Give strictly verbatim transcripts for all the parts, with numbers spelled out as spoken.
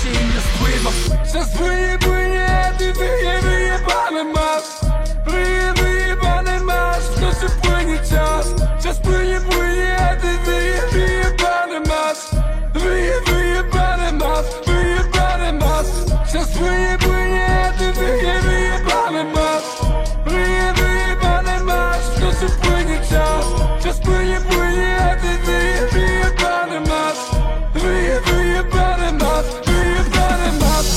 dzień nie spływa. Czas płynie, płynie, a ty wyje, wyjebane masz. Wyje, wyjebane masz, w koszy płynie czas. Czas płynie, płynie, a ty wyje, wyjebane masz. Wyje, wyjebane masz, wyjebane masz. Czas płynie, płynie, a ty wyje, wyjebane masz. Wyje, wyjebane masz, w koszy płynie czas. Czas płynie, płynie, a ty wyje, wyjebane masz. Wyje, wyjebane masz, wyjebane masz.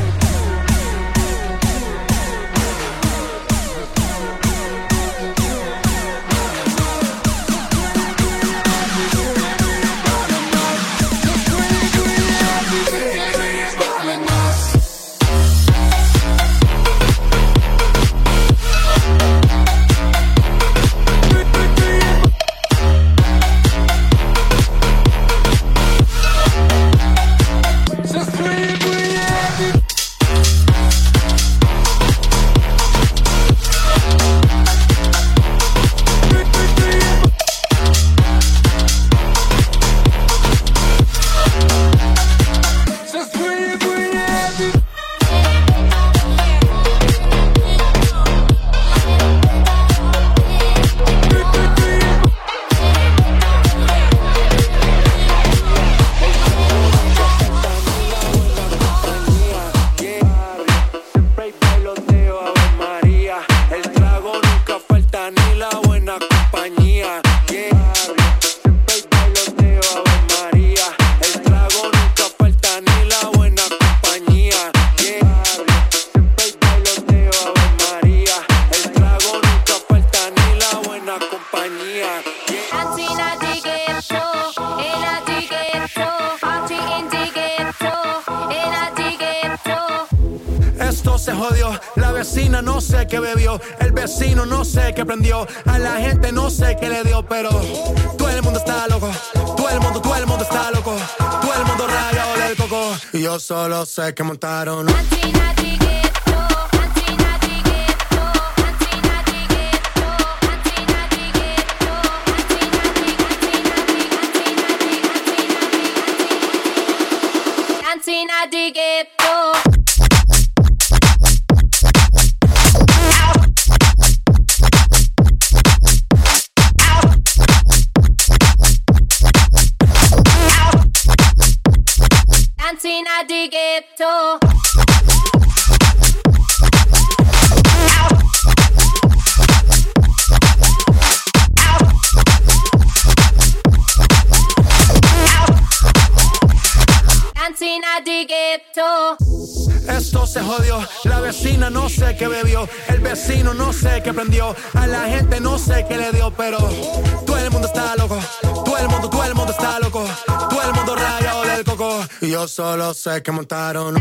No sé qué bebió, el vecino no sé qué prendió, a la gente no sé qué le dio, pero todo el mundo está loco, todo el mundo, todo el mundo está loco, todo el mundo rayado del coco, y yo solo sé que montaron. Esto se jodió, la vecina no sé qué bebió, el vecino no sé qué prendió, a la gente no sé qué le dio, pero todo el mundo está loco, todo el mundo, todo el mundo está loco, todo el mundo rayado del coco, y yo solo sé que montaron.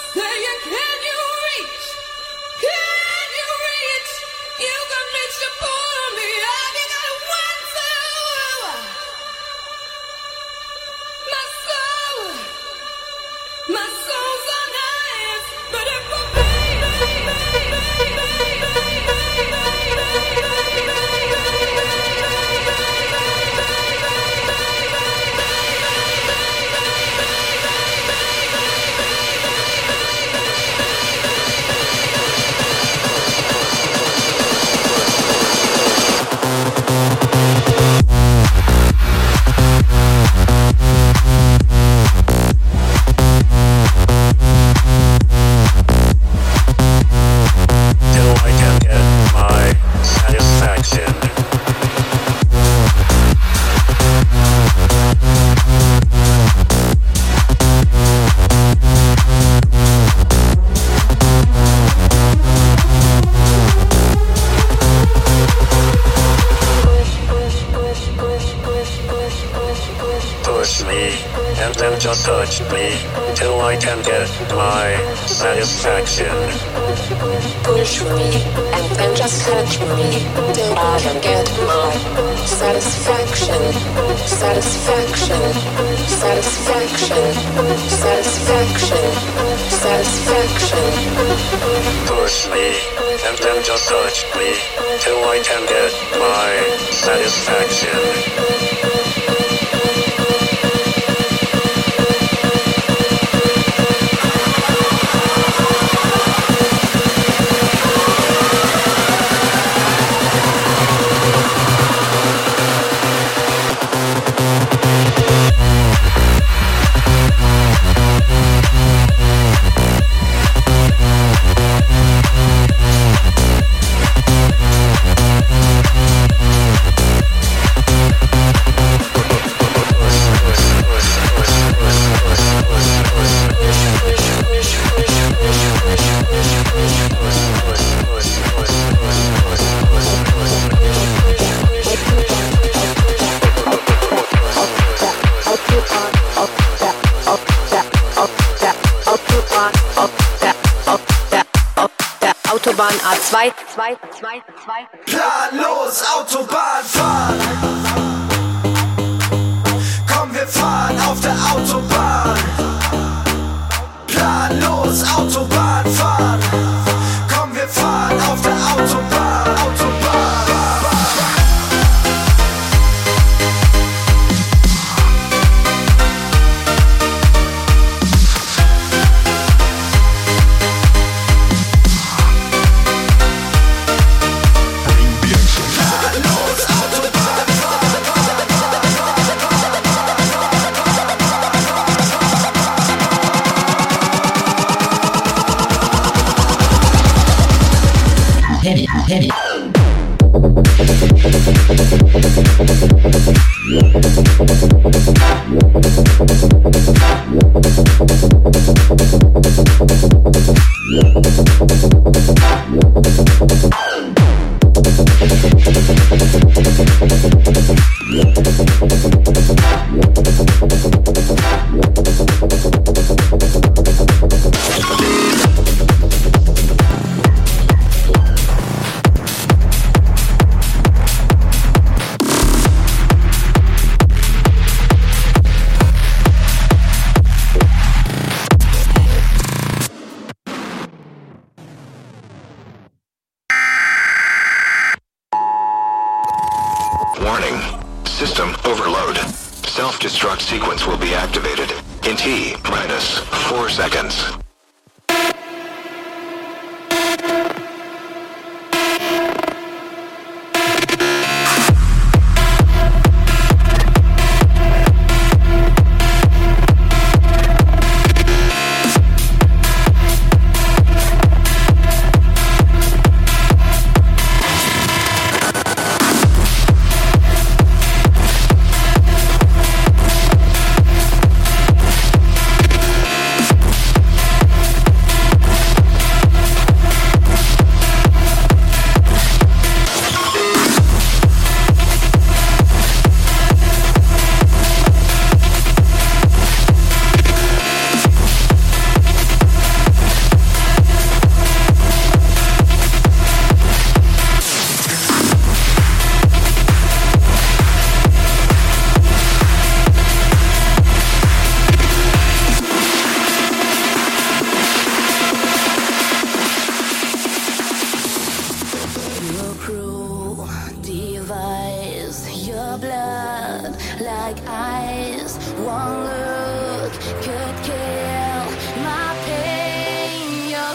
Just touch me till I can get my satisfaction. Push me and then just touch me till I can get my satisfaction. Satisfaction. Satisfaction. Satisfaction. Satisfaction. Push me and then just touch me till I can get my satisfaction. Autobahn A zwei, zwei, zwei, zwei. Planlos Autobahn fahren. Komm, wir fahren auf der Autobahn. Planlos Autobahn fahren. Komm, wir fahren auf der Autobahn. Autobahn. Hit it, hit it. Warning. System overload. Self-destruct sequence will be activated in T minus four seconds.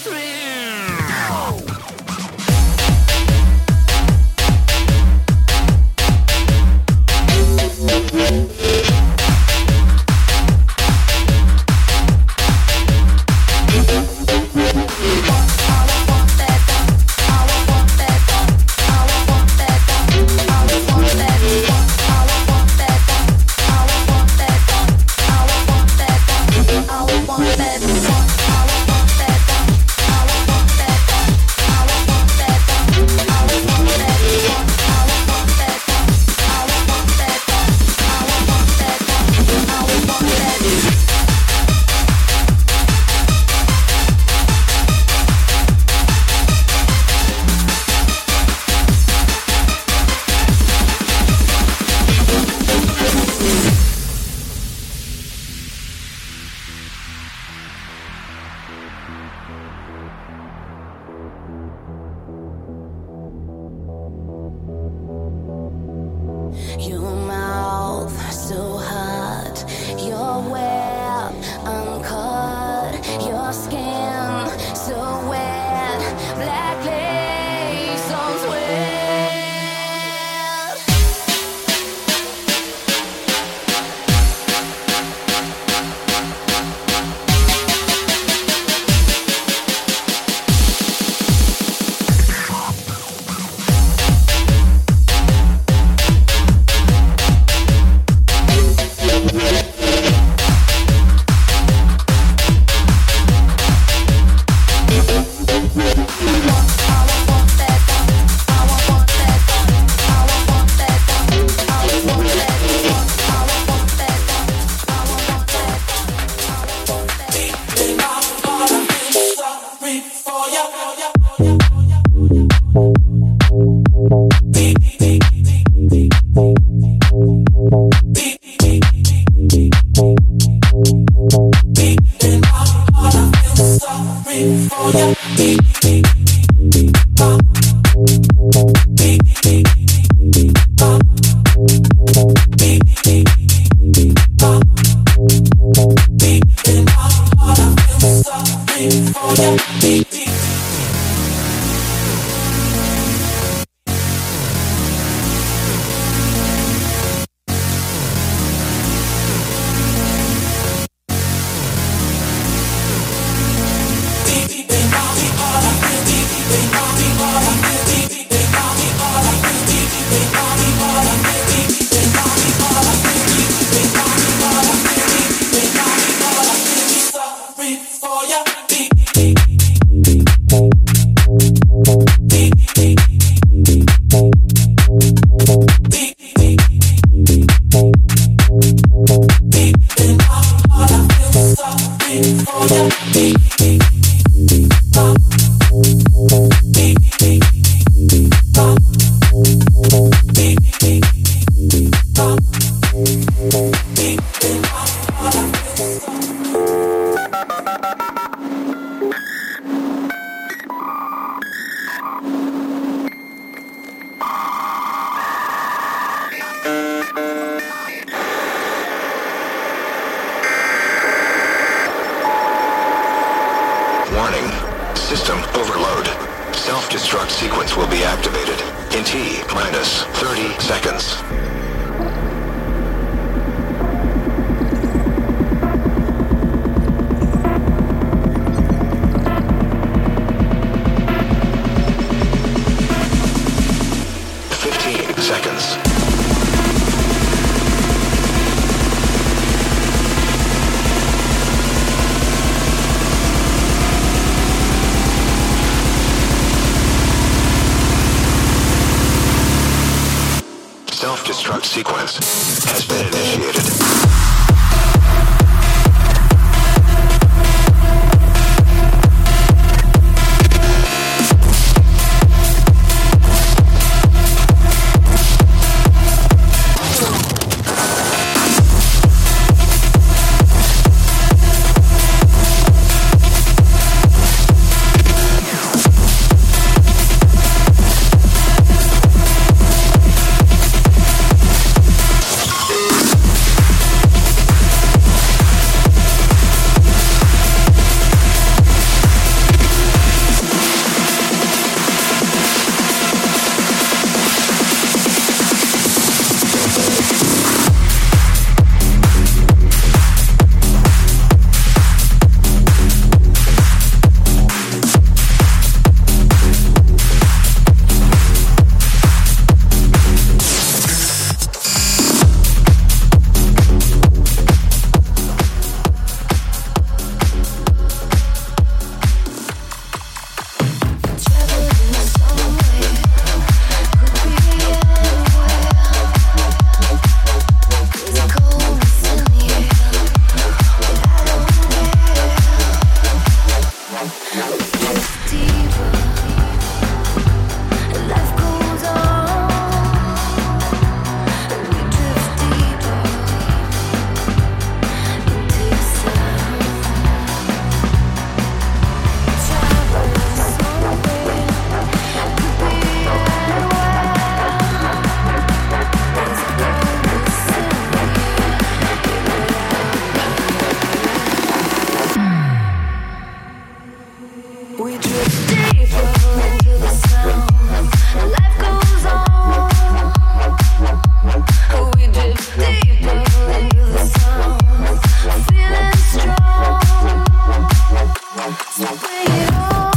Self-destruct sequence has been initiated. Bring it on.